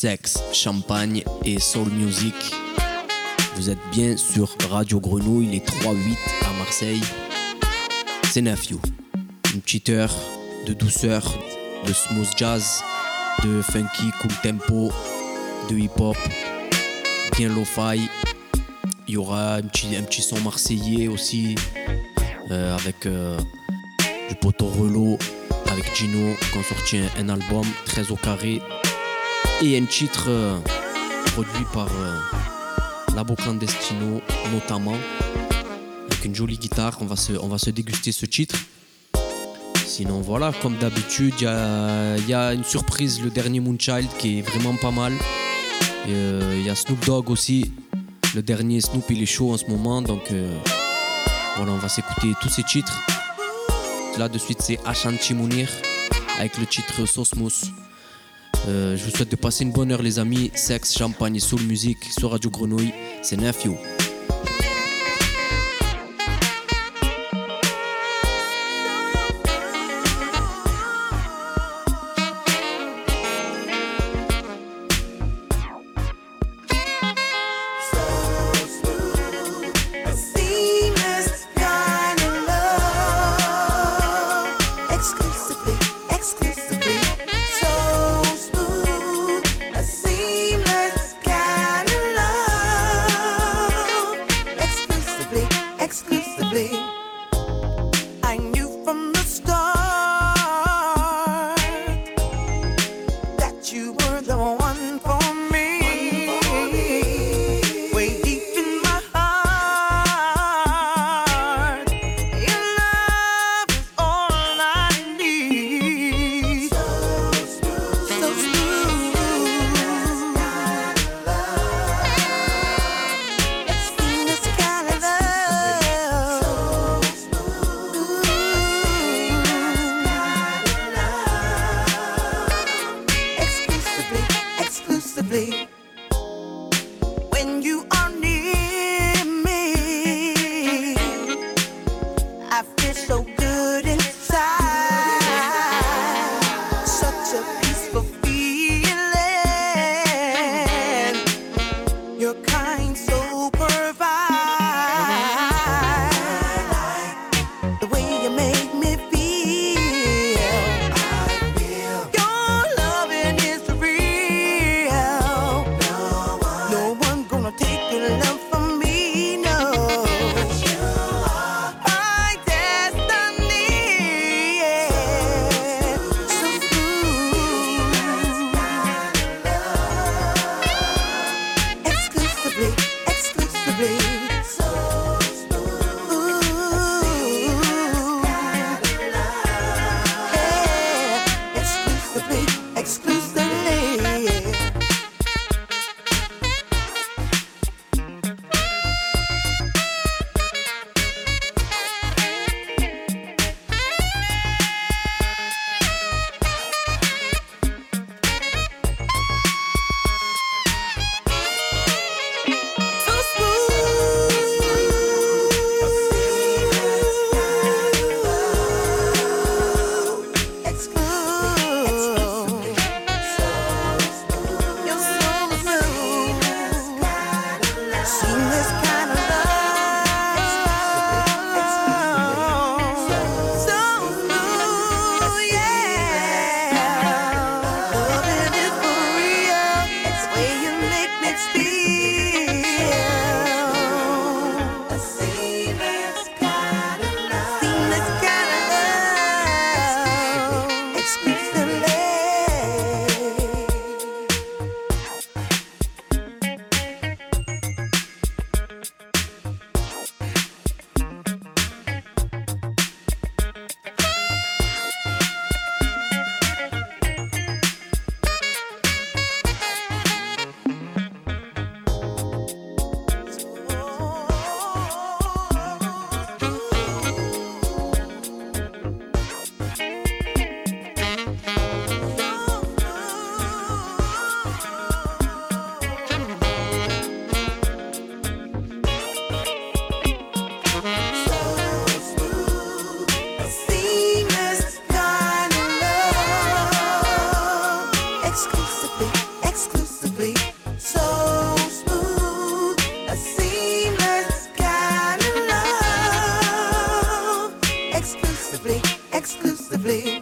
sexe, champagne et soul music. Vous êtes bien sur Radio Grenouille, les 3-8 à Marseille. C'est Nephew. Une petite heure de douceur, de smooth jazz, de funky, cool tempo, de hip-hop, bien lo-fi. Il y aura un petit son marseillais aussi, avec du poteau Relo, avec Gino, qui ont sorti un album très au carré. Et un titre produit par Labo Clandestino notamment, avec une jolie guitare. On va se déguster ce titre. Sinon voilà, comme d'habitude, il y a une surprise, le dernier Moonchild qui est vraiment pas mal. Il y a Snoop Dogg aussi. Le dernier Snoop il est chaud en ce moment, donc voilà, on va s'écouter tous ces titres. Là de suite c'est Ashanti Mounir avec le titre Sauce Mousse. Je vous souhaite de passer une bonne heure les amis. Sexe, champagne et soul music sur Radio Grenouille. C'est Nephew. exclusively, so smooth, a seamless kind of love, exclusively.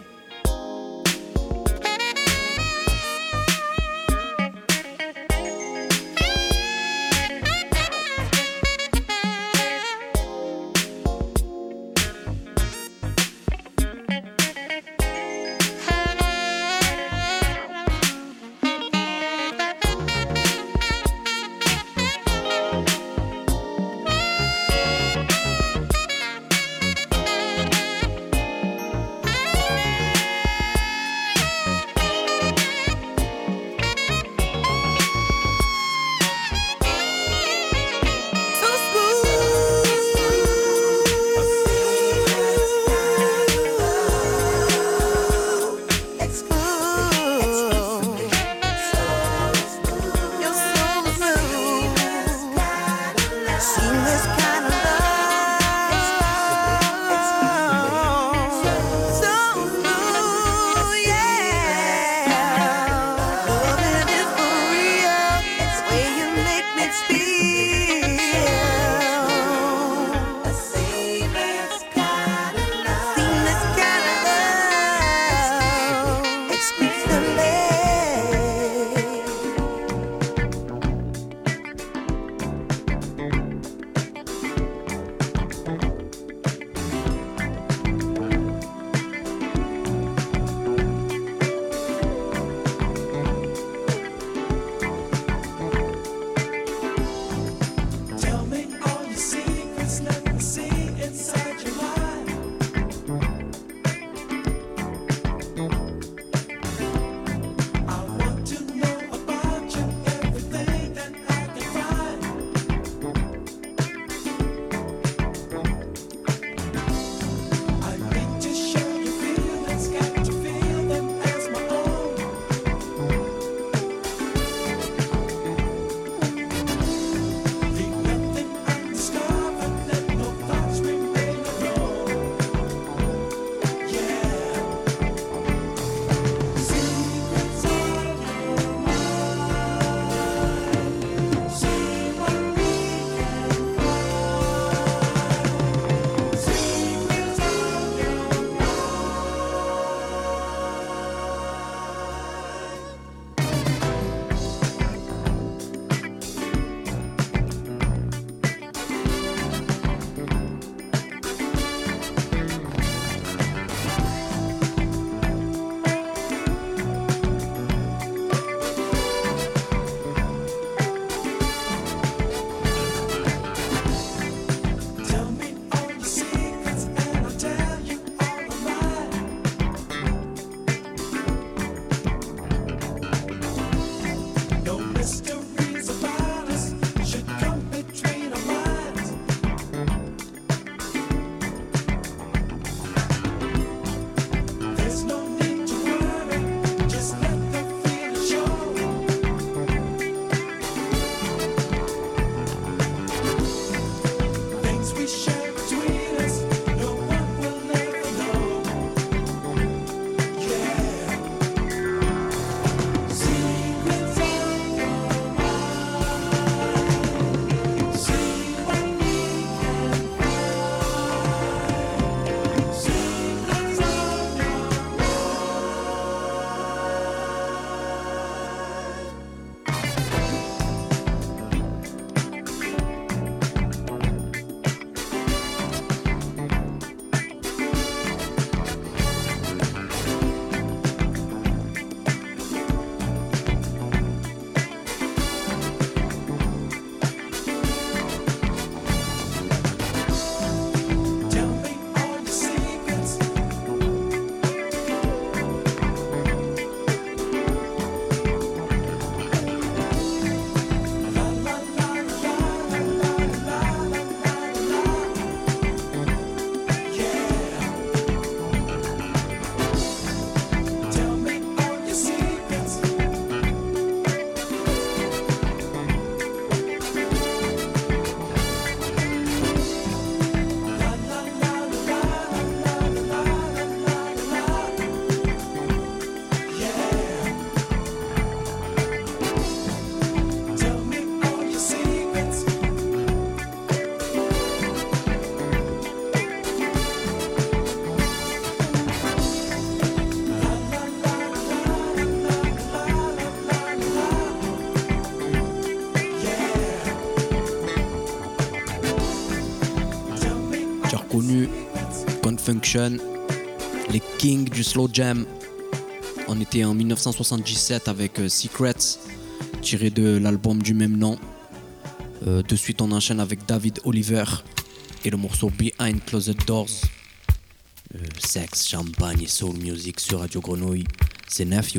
connu, Confunction, les kings du slow jam. On était en 1977 avec Secrets, tiré de l'album du même nom. De suite, on enchaîne avec David Oliver et le morceau Behind Closed Doors. Sexe, champagne et soul music sur Radio Grenouille. C'est Nephew.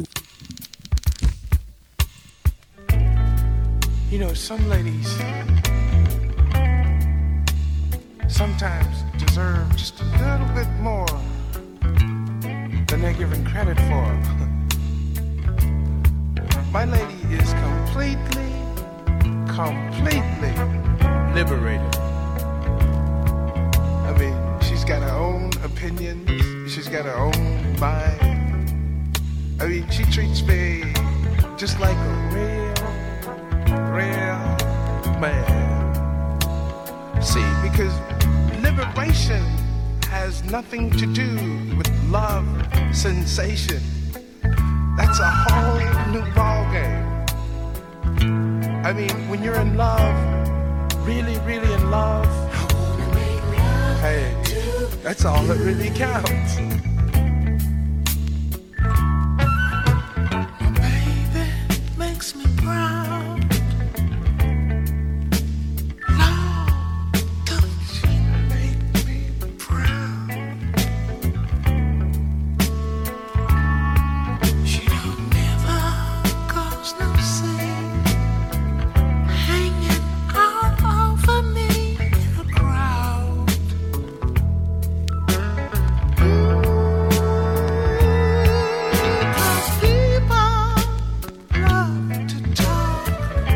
You know, some ladies sometimes deserve just a little bit more than they're given credit for. My lady is completely liberated. I mean, she's got her own opinions, she's got her own mind. I mean, she treats me just like a real man. See, because liberation has nothing to do with love sensation. That's a whole new ballgame. I mean, when you're in love, really, really in love, hey, that's all that really counts. My baby makes me proud. Lord, don't she make me proud? She don't never cause no scene, hanging out over me in a crowd. Cause people love to talk.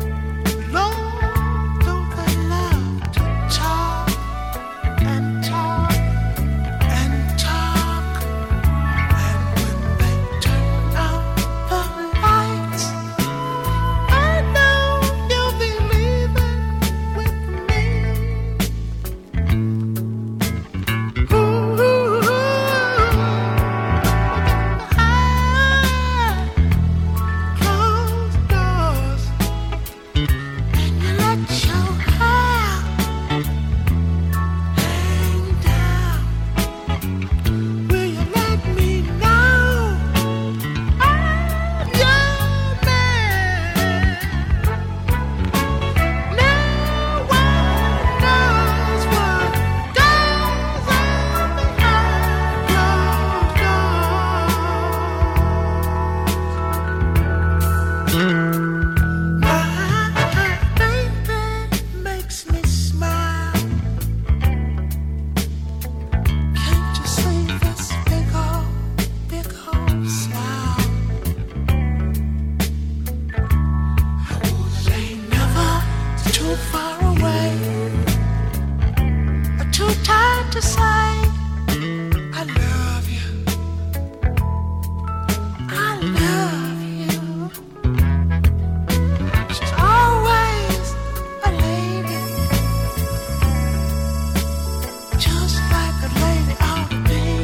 Lord, don't they love to talk and talk and talk. And when they turn out the lights, I know you'll be leaving with me. Closed doors, and you let your hair hang down. Will you let me know I'm your man? No one knows what goes on behind closed doors. My baby makes me smile. Can't you see this big old smile? It ain't never too far away, or too tired to say I love you. I love you. She's always a lady, just like a lady ought to be.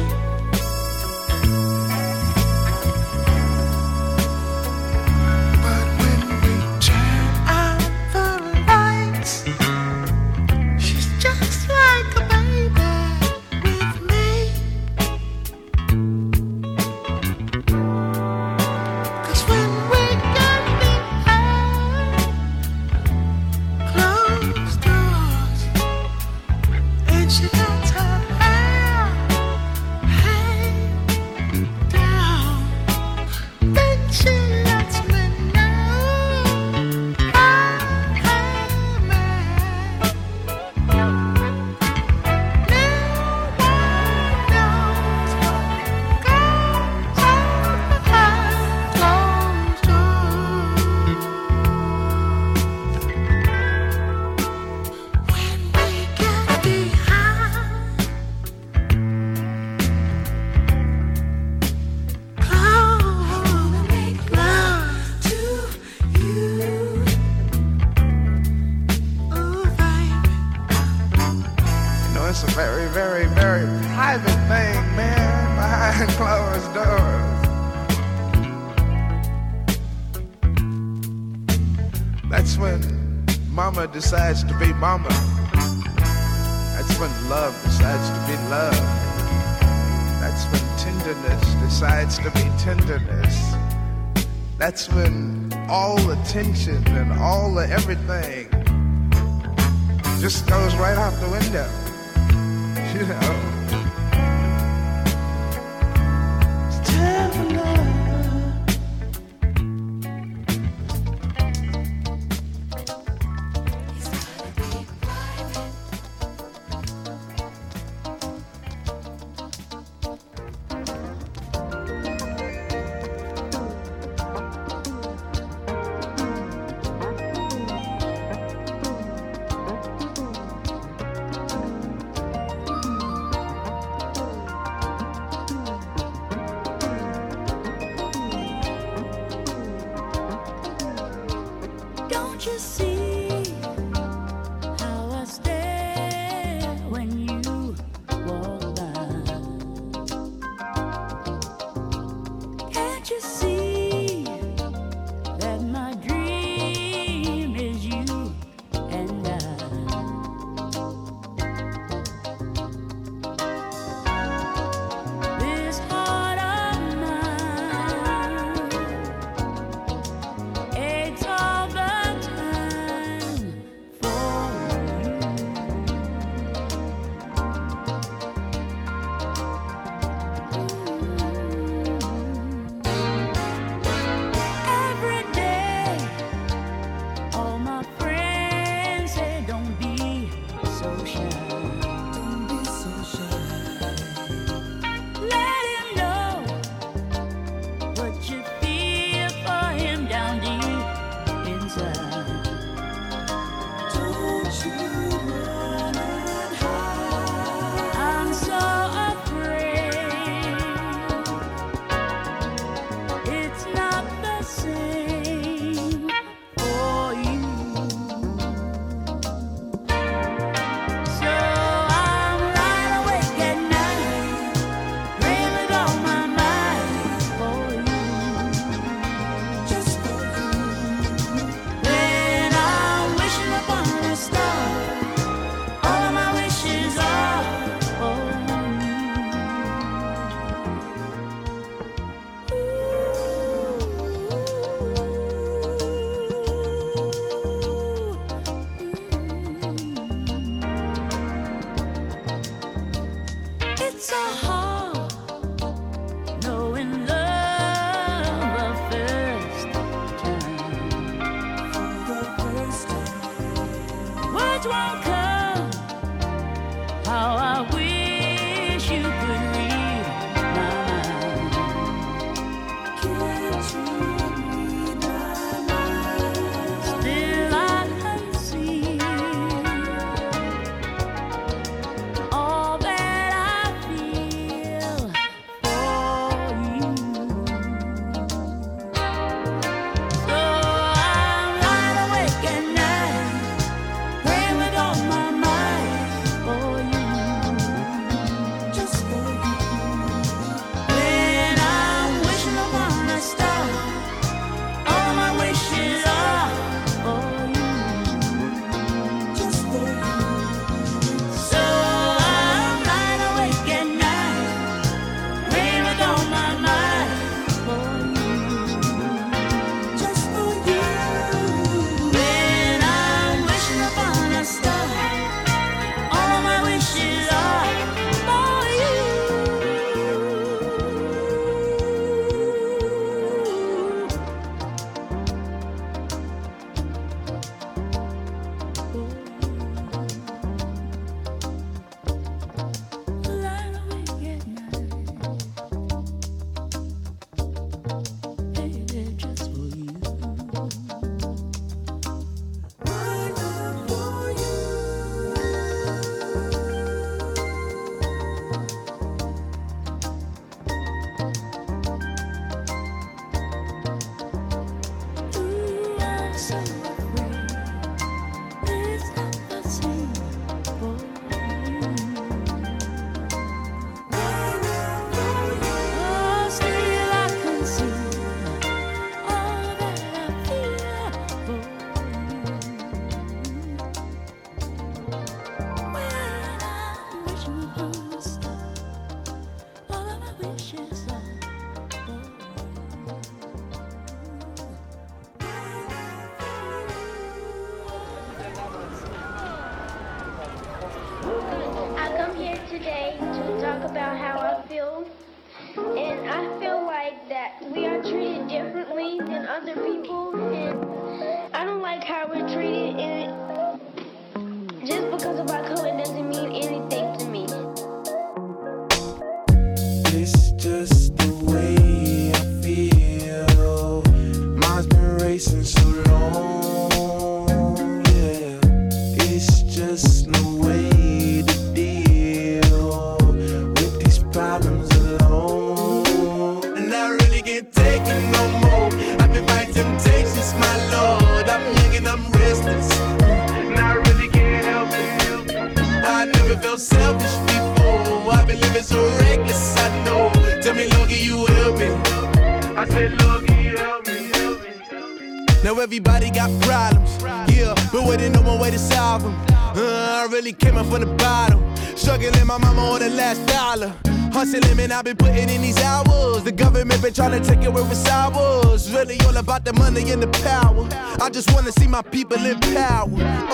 But when we turn out the lights, she's just like a baby with me. 'Cause when we get behind closed doors, and she lets her hair hang down, then she lets me know I'm her man. No one knows what goes on behind closed doors. When we get behind closed, make love to you. Oh, baby. You know, it's a very, very, very private thing, man, behind closed doors. That's when mama decides to be mama. That's when love decides to be love. That's when tenderness decides to be tenderness. That's when all the tension and all the everything just goes right out the window. You know. It's time for love. Don't you see how I stare when you walk by? Can't you see that my dream is you and I? This heart of mine aches all the time for every day. All my friends say don't be so shy. Don't be so shy. Let him know what you feel for him down deep inside. Don't you run and hide. I'm so afraid it's not the same for you. So I'm lying awake at night, praying with all my might for you, just for you. When I'm wishing upon a star, all of my wishes are for It's so hard knowing love the first time. For the first time, words won't come. How I wish you could read my mind. Can't you read my mind? Still I can see all that I feel for you. So I'm lying awake at night, praying with all my might for you, just for you. When I'm wishing upon a star, all my wishes are for you, just for you. So I'm lying awake at night, praying with all my might for you, just for you. When I'm wishing upon a star, all my wishes are for you. Lying awake at night, baby, just for you. Right up for Ooh, I'm so afraid it's not the same for you. Oh, still I can see all that I feel for you. When today to talk about how I feel. And I feel like that we are treated differently than other people. And I don't like how we're treated. And just because of our color doesn't mean anything to me. It's just the way I feel. Mine's been racing so long. Yeah, it's just no way to deal with these problems alone. And I really can't take it no more. I've been fighting temptations, my lord. I'm young and I'm restless, and I really can't help it. I never felt selfish before. I've been living so reckless, I know. Tell me, Lord, can you help me? I said, Lord, can you help me? Now everybody got problems, yeah, but waiting no more way to solve them. I really came up from the bottom, struggling my mama on the last dollar. Hustling, man, I've been putting in these hours. The government been trying to take away what's ours. Really all about the money and the power. I just wanna see my people in power.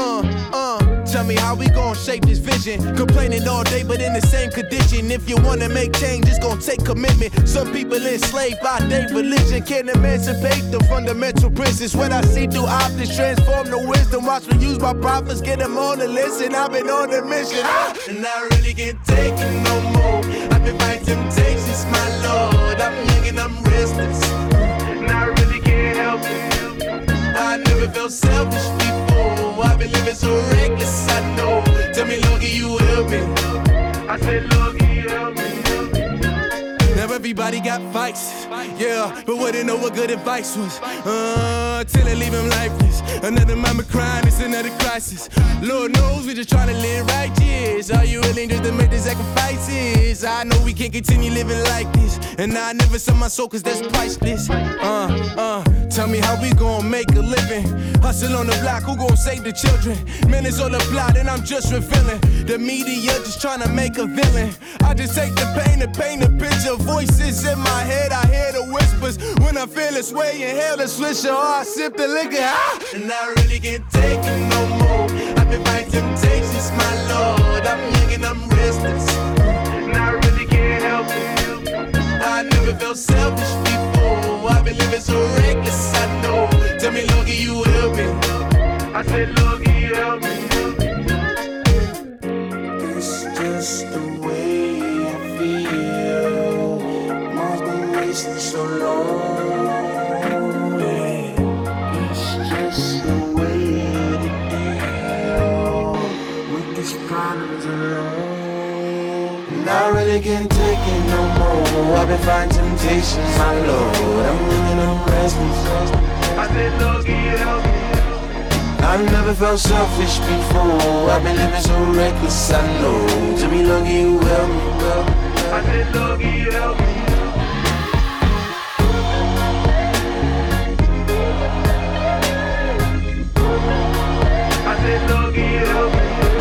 Tell me how we gon' shape this vision. Complaining all day, but in the same condition. If you wanna make change, it's gon' take commitment. Some people enslaved by their religion can't emancipate the fundamental principles. What I see through optics transform the wisdom. Watch me use my prophets, get them on the list, and I've been on the mission. And I really can't take it no more. I've been fighting temptations, my lord. I'm young and I'm restless, and I really can't help it. I never felt selfish before. I've been living so reckless, I know. Tell me, Lord, can you help me? I said, Lord, can you help me? Now everybody got fights, yeah, but wouldn't know what good advice was. Till it leave him lifeless. Another mama crying, it's another crisis. Lord knows we just trying to live righteous. Are you willing just to make the sacrifices? I know we can't continue living like this, and I never sell my soul cause that's priceless. Tell me how we gon' make a living. Hustle on the block, who gon' save the children? Man, it's all a plot and I'm just revealing. The media just trying to make a villain. I just take the pain and paint a picture. Voices in my head, I hear the whispers. When I feel this way, inhale the swisher, or I sip the liquor. And I really can't take it no more. I've been fighting temptations, my lord. I'm young and I'm restless, and I really can't help it. I never felt selfish before. I've been living so reckless, I know. Tell me, Lord, can you help me? I said, Lord, can you help me? It's just the way I feel. Mine's been racing so long. It's just the way to deal with these problems alone. And I really can't take it no more. I've been fighting temptations, my lord. I'm living on restless. I said, Lord, can you help me? I've never felt selfish before. I've been living so reckless, I know. Tell me, Lord, can you help me? I said, Lord, can you help me? I said, Lord, can you help me?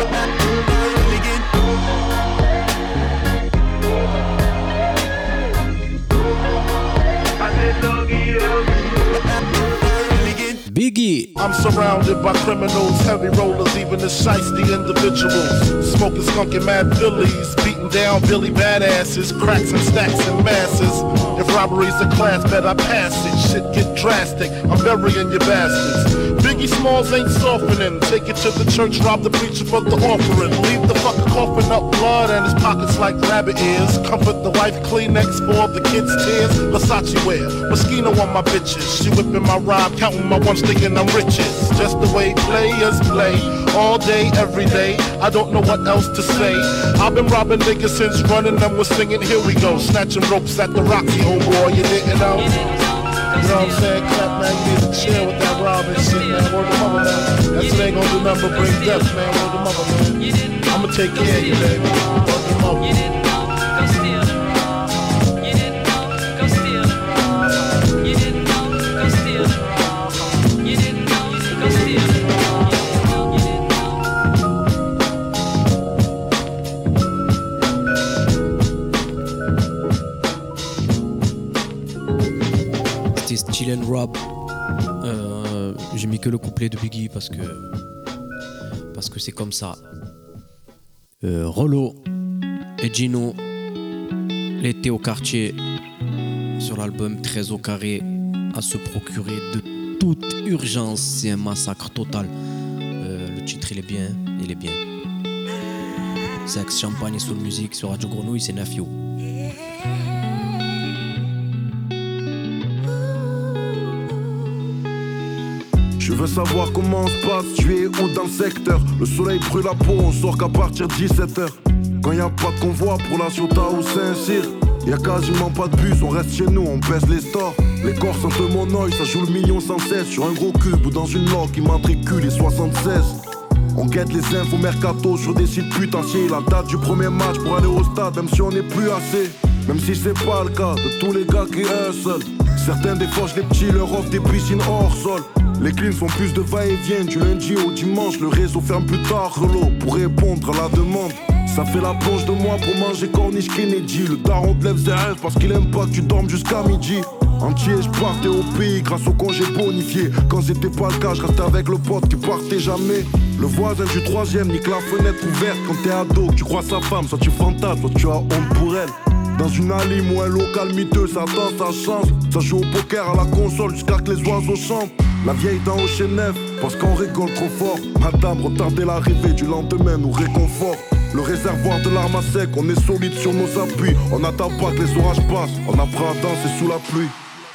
Biggie. I'm surrounded by criminals, heavy rollers, even the shiesty individuals. Smoking skunk and mad Phillies, beating down Billy badasses, cracks and stacks in masses. If robbery's a class, bet I pass it. Shit get drastic, I'm burying your bastards. Biggie Smalls ain't softening. Take it to the church, rob the preacher for the offering. Leave the fucker coughing up blood and his pockets like rabbit ears. Comfort the wife, Kleenex for the kids' tears. Versace wear, Moschino on my bitches. She whipping my ride, counting my ones, thinking I'm riches. Just the way players play, all day, every day. I don't know what else to say. I've been robbing niggas since running them was singing. Here we go, snatching ropes at the Roxy, homeboy. You didn't know? You know what I'm saying? Clap, man, you need to chill with that robbing shit, man. Word to mother, man. That's what they gon' do nothing but bring death, man. Word to mother, man. I'ma take care of you, baby. Word to mother. C'était Still and Rob. J'ai mis que le couplet de Biggie parce que c'est comme ça. Rollo, et Gino, l'été au quartier, sur l'album 13 au carré, à se procurer de toute urgence. C'est un massacre total. Le titre, il est bien, il est bien. Sexe, champagne et soul music sur Radio Grenouille, c'est Nafio. Je veux savoir comment se passe, tu es où dans le secteur. Le soleil brûle la peau, on sort qu'à partir de 17h. Quand y a pas de convoi pour la Ciotat ou Saint-Cyr, y a quasiment pas de bus, on reste chez nous, on baisse les stores. Les corps sentent le monoï, ça joue le million sans cesse. Sur un gros cube ou dans une loque qui matricule les 76. On guette les infos mercato sur des sites putanciers. La date du premier match pour aller au stade, même si on n'est plus assez. Même si c'est pas le cas de tous les gars qui hustle. Certains défauchent les petits, leur offrent des piscines hors sol. Les cleans font plus de va-et-vient du lundi au dimanche. Le réseau ferme plus tard, relot, pour répondre à la demande. Ça fait la plonge de moi pour manger corniche Kennedy. Le daron te lève ses rêves parce qu'il aime pas que tu dormes jusqu'à midi. Entier, je partais au pays grâce au congé bonifié. Quand c'était pas le cas, je restais avec le pote qui partait jamais. Le voisin du troisième nique la fenêtre ouverte. Quand t'es ado, tu crois sa femme, soit tu fantasmes, soit tu as honte pour elle. Dans une alim ou un local miteux, ça tente sa chance. Ça joue au poker à la console jusqu'à que les oiseaux chantent. La vieille dans Ocean 9, parce qu'on rigole trop fort. Madame, retardez l'arrivée du lendemain nous réconforte. Le réservoir de l'arme à sec, on est solide sur nos appuis. On n'attend pas que les orages passent, on apprend à danser sous la pluie.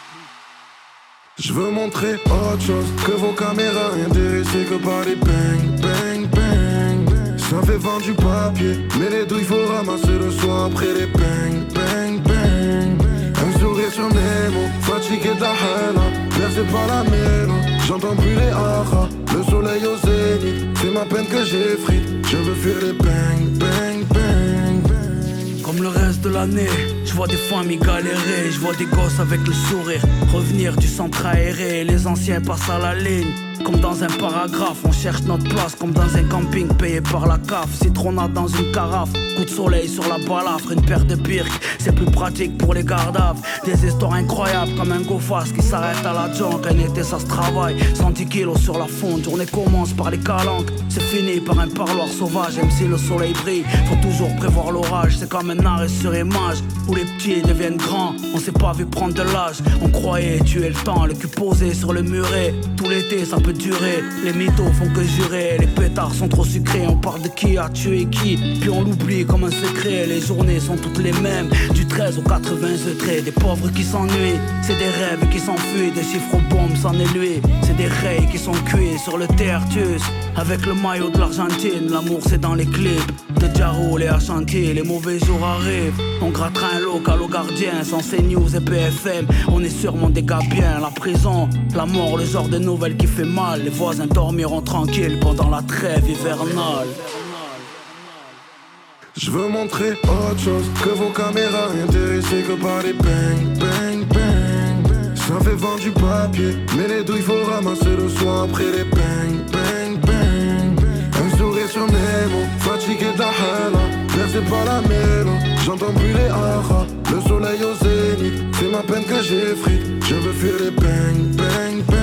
Je veux montrer autre chose que vos caméras, intéressées que par les bang, bang, bang. Ça fait vendre du papier, mais les douilles faut ramasser le soir après les bang, bang, bang. Un sourire sur mes mots, fatigué de la haine, bercé par la mélo. J'entends plus les haras, le soleil au zénith. C'est ma peine que j'effrite, je veux fuir les bang, bang, bang, bang. Comme le reste de l'année, je vois des familles galérer, je vois des gosses avec le sourire revenir du centre aéré, les anciens passent à la ligne. Comme dans un paragraphe, on cherche notre place comme dans un camping payé par la CAF. Citronnade dans une carafe, coup de soleil sur la balafre, une paire de birks, c'est plus pratique pour les gardaves. Des histoires incroyables comme un go-fast qui s'arrête à la junk. Un été ça se travaille, 110 kilos sur la fonte. Journée commence par les calanques, c'est fini par un parloir sauvage. Même si le soleil brille, faut toujours prévoir l'orage. C'est comme un arrêt sur image où les petits deviennent grands. On s'est pas vu prendre de l'âge, on croyait tuer le temps. Le cul posé sur le muret, tout l'été ça peut durer. Les mythos font que jurer, les pétards sont trop sucrés. On parle de qui a tué qui, puis on l'oublie comme un secret. Les journées sont toutes les mêmes, du 13 au 80 degrés. Des pauvres qui s'ennuient, c'est des rêves qui s'enfuient. Des chiffres aux bombes s'en est lui, c'est des rails qui sont cuits sur le tertius. Avec le maillot de l'Argentine, l'amour c'est dans les clips de Jarul et Ashanti. Les mauvais jours arrivent, on grattera un local au gardien. Sans CNews et PFM, on est sûrement des gars bien. La prison, la mort, le genre de nouvelle qui fait mal. Les voisins dormiront tranquilles pendant la trêve hivernale. Je veux montrer autre chose que vos caméras, intéressées que par les bang, bang, bang. Ça fait vendre du papier, mais les douilles faut ramasser le soir après les bang, bang, bang. Un sourire sur mes mots, fatigué de la haine, bercé par la mélo. J'entends plus les haras, le soleil au zénith. C'est ma peine que j'effrite, je veux fuir les bang, bang, bang.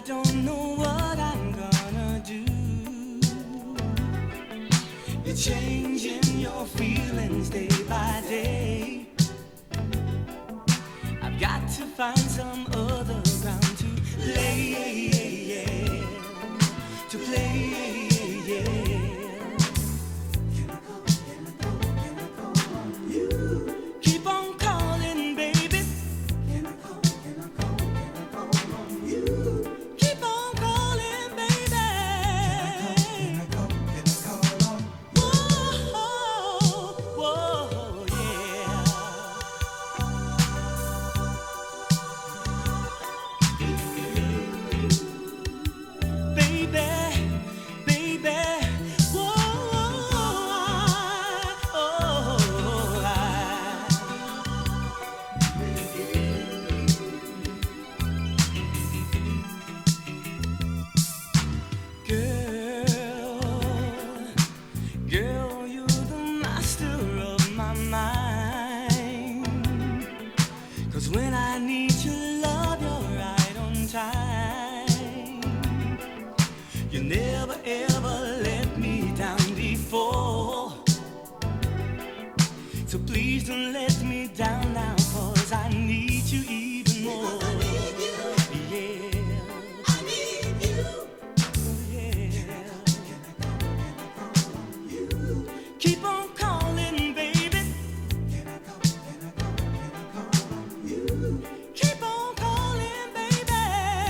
don't know what I'm gonna do. You're changing your feelings day by day. I've got to find some other ground to play, to play. Keep on calling, baby. Keep on calling, baby. Whoa, whoa, yeah. Baby, baby, whoa, Girl, you're the master of my mind. 'Cause when I need your love, you're right on time. You never ever let me down before. So please don't let me down now, 'cause I need you even more. Yeah, I need you. Keep on calling, baby. Keep on calling, baby.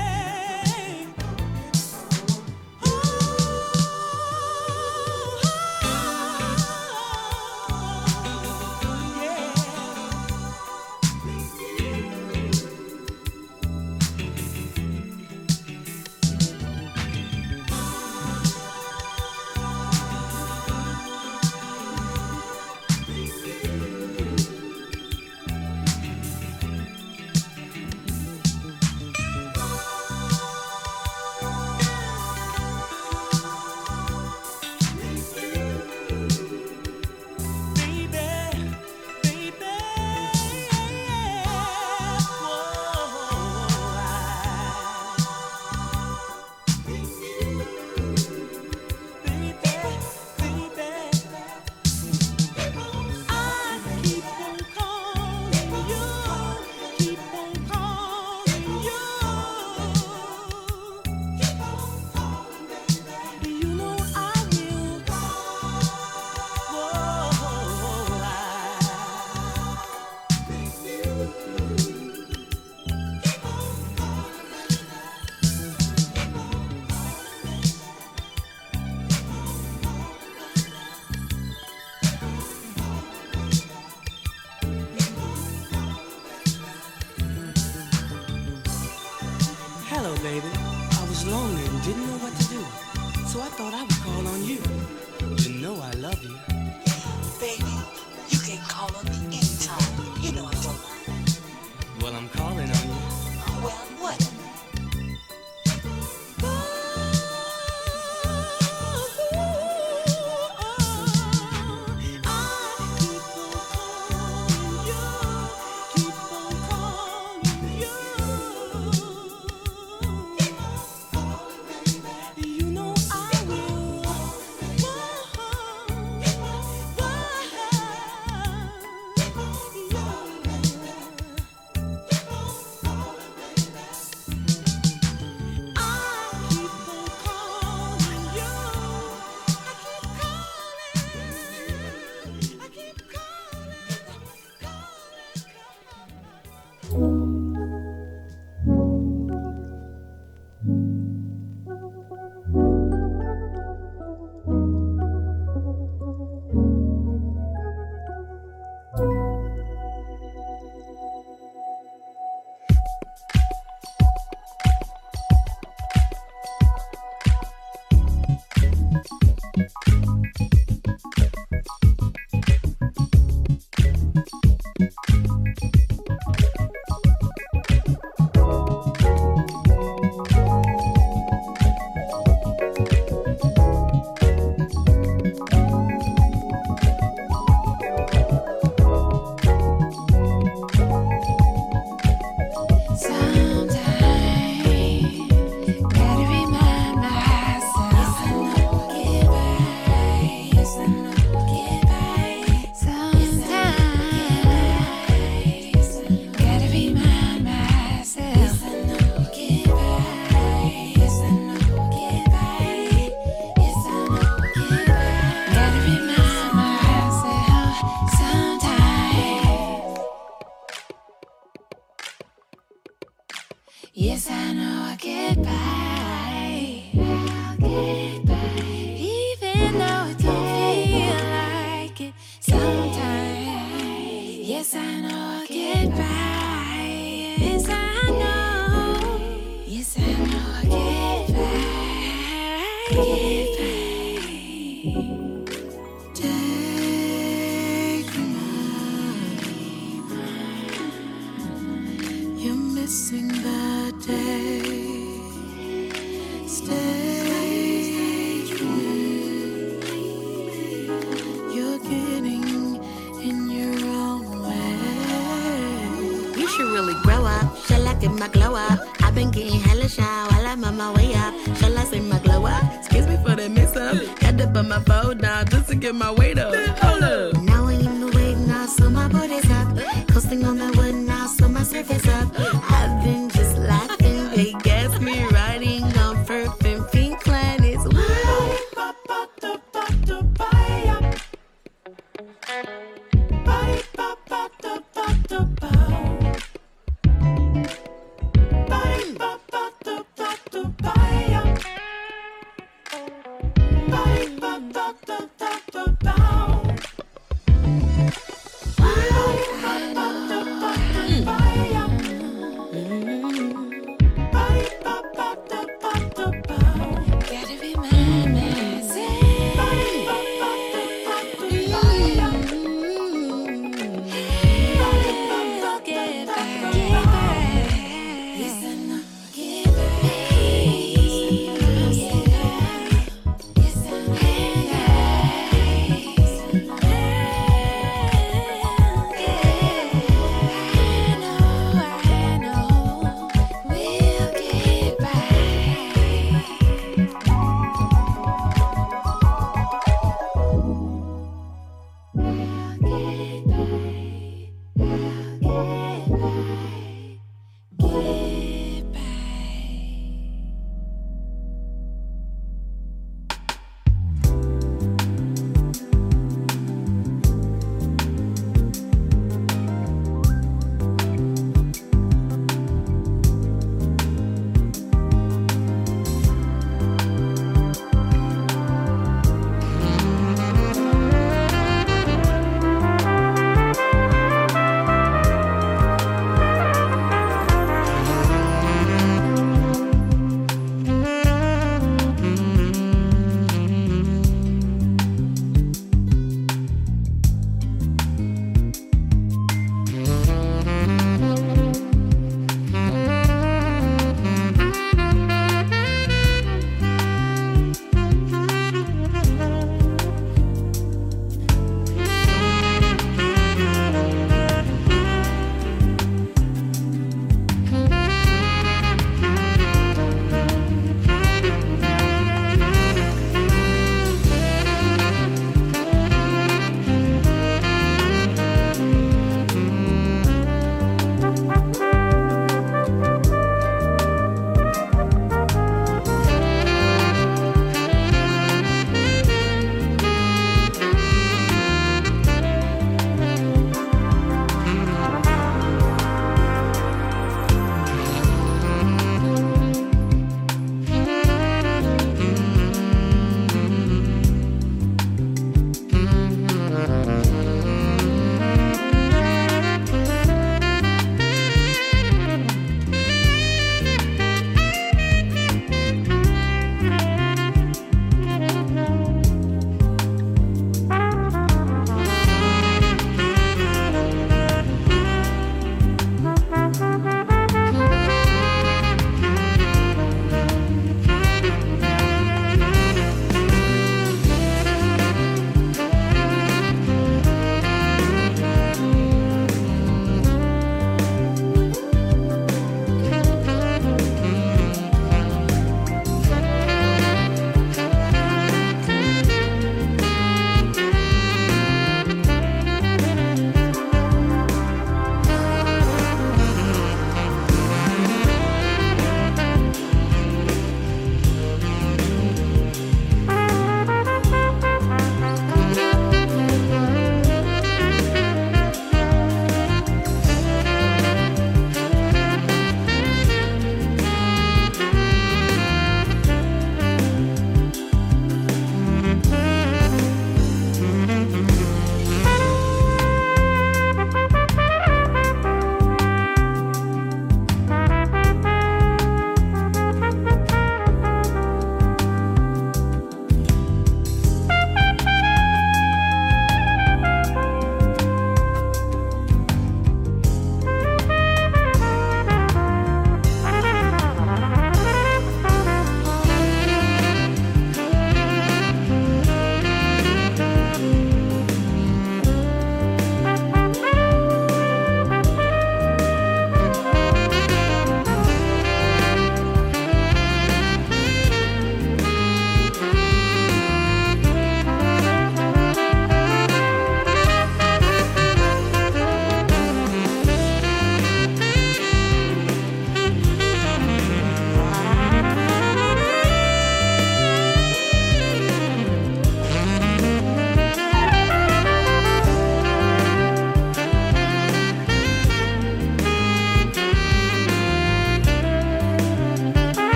Hello, baby. I was lonely and didn't know what to do, so I thought I would call on you. You know I love you. Baby, you can call on me anytime. You know I don't mind. Well, I'm calling on you. Well, what? You know I will. Whoa, whoa. Yes, I know I'll get by. I'll get by. Even though it don't feel like it sometimes. Yes, I know I'll get by. Yes, I know. Yes, I know I'll get by. Get by. Missing the day. Stay true. You're getting in your own way. You should really grow up. Shall I get my glow up? I've been getting hella shine while I'm on my way up. Shall I say my glow up? Excuse me for the mix up. Had to put my phone down just to get my weight up. Hold up. Now I am the weight now, so my body's up. Coasting on the wood now, so my surface up. I've been just laughing, they gas me riding on perfect pink planets. Bye.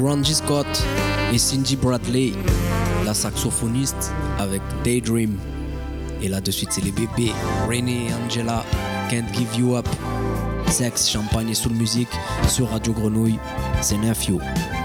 Randy Scott et Cindy Bradley, la saxophoniste avec Daydream. Et là de suite c'est les bébés Renee et Angela, Can't Give You Up. Sexe, champagne et soul music sur Radio Grenouille, c'est Nephew.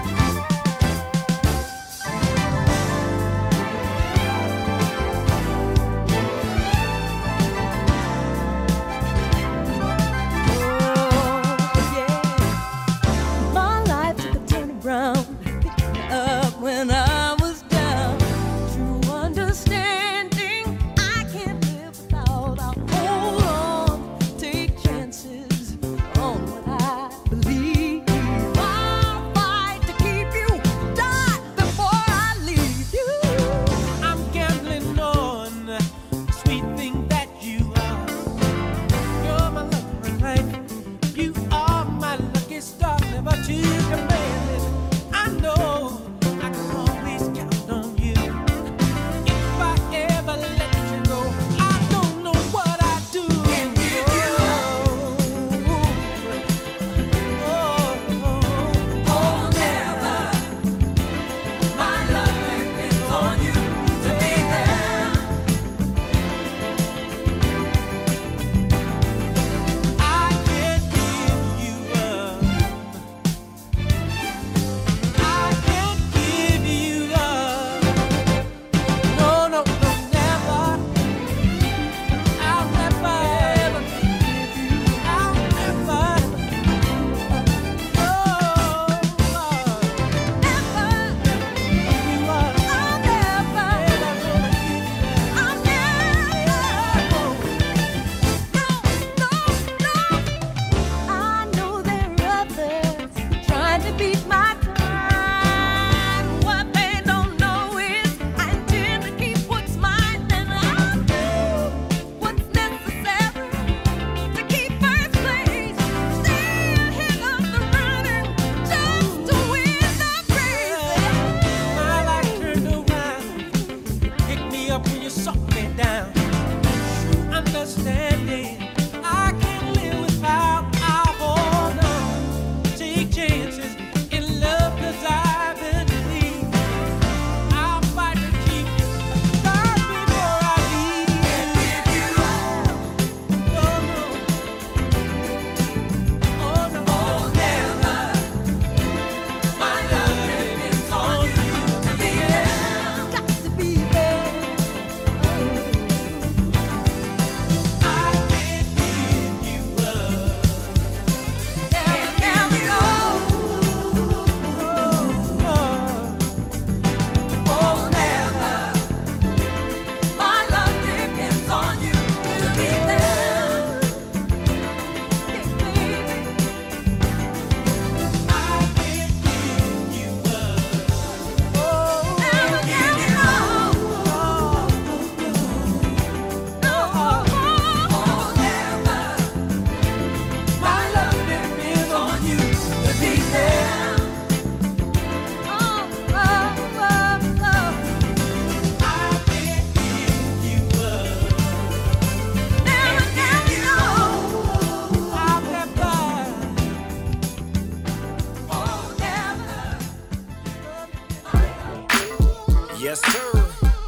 Yes, sir.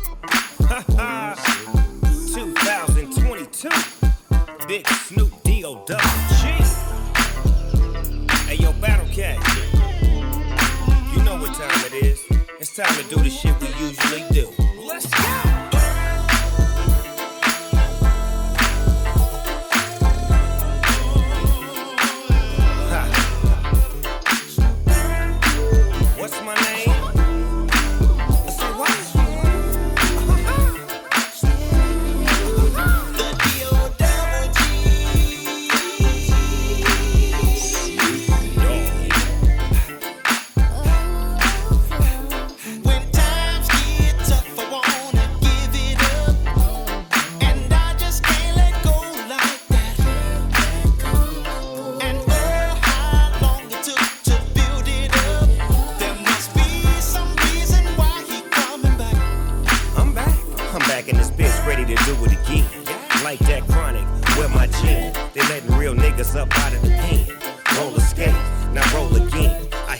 2022. Big Snoop D-O-Double-G. Hey, yo, Battle Cat. You know what time it is. It's time to do the shit we usually do. Let's go. What's my name? Say what? The D-O-Double-G. When times get tough, I wanna give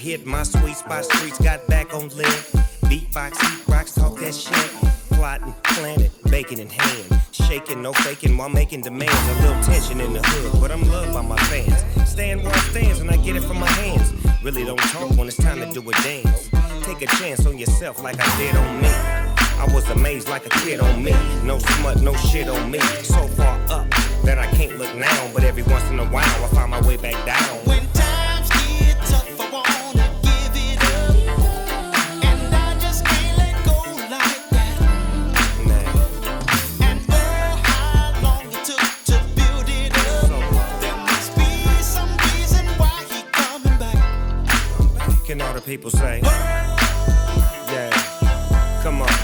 hit my sweet spot, streets got back on live. Beatbox, heat rocks, talk that shit. Plotting, planning, bacon in hand. Shaking, no faking while making demands. A little tension in the hood, but I'm loved by my fans. Stand where I stands and I get it from my hands. Really don't talk when it's time to do a dance. Take a chance on yourself like I did on me. I was amazed like a kid on me. No smut, no shit on me. So far up that I can't look now. But every once in a while I find my way back down. When times get tough, I wanna give it up. And I just can't let go like that. Nah. And oh, how long it took to build it up. There must be some reason why he coming back. Can all the people say? Yeah, come on.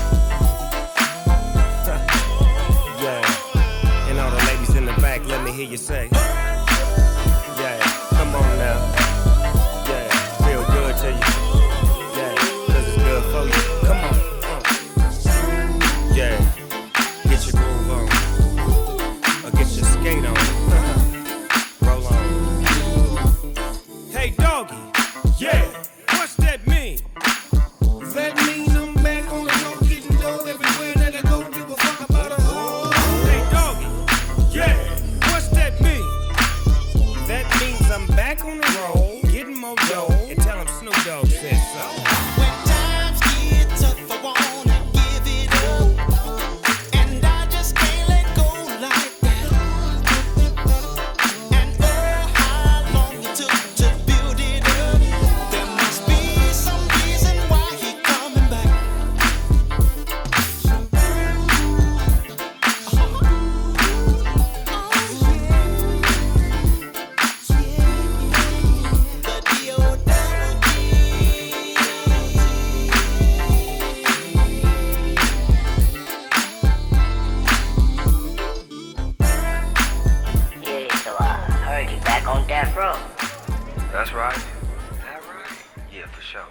Yeah, and all the ladies in the back, let me hear you say. Yeah, come on now. Yeah, feel good to you. Yeah, 'cause it's good for you. Come on. Yeah, get your groove on. Or get your skate on. Roll on. Hey, doggy. Yeah, what's that mean? That means I'm back on the road, getting dough everywhere that I go. Give a fuck about a hoe. Hey, doggy. Yeah, what's that mean? That means I'm back on the road, getting more dough, and tell him Snoop Dogg said so. When times get tough, I wanna give it up. And I just can't let go like that. And oh, how long it took to build it up. There must be some reason why he coming back. The Yeah, so I heard you back on Death Row. That's right. That right? Yeah, for sure.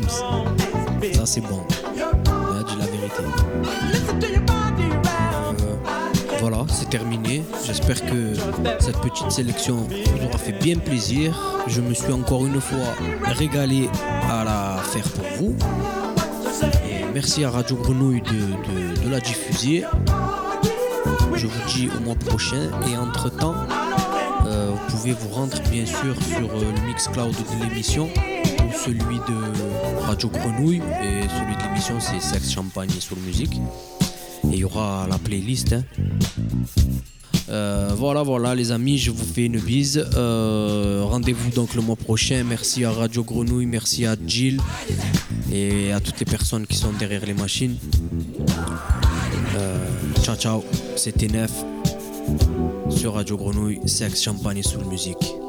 Ça c'est bon. Dis la vérité. Voilà, c'est terminé. J'espère que cette petite sélection vous aura fait bien plaisir. Je me suis encore une fois régalé à la faire pour vous. Et merci à Radio Grenouille de la diffuser. Je vous dis au mois prochain. Et entre-temps, vous pouvez vous rendre bien sûr sur le Mixcloud de l'émission ou celui de Radio Grenouille. Et celui de l'émission, c'est Sex, Champagne et Soul Music. Et il y aura la playlist. Voilà les amis, je vous fais une bise. Rendez-vous donc le mois prochain. Merci à Radio Grenouille, merci à Jill et à toutes les personnes qui sont derrière les machines. Ciao, c'était Nef sur Radio Grenouille, Sex, Champagne et Soul Music.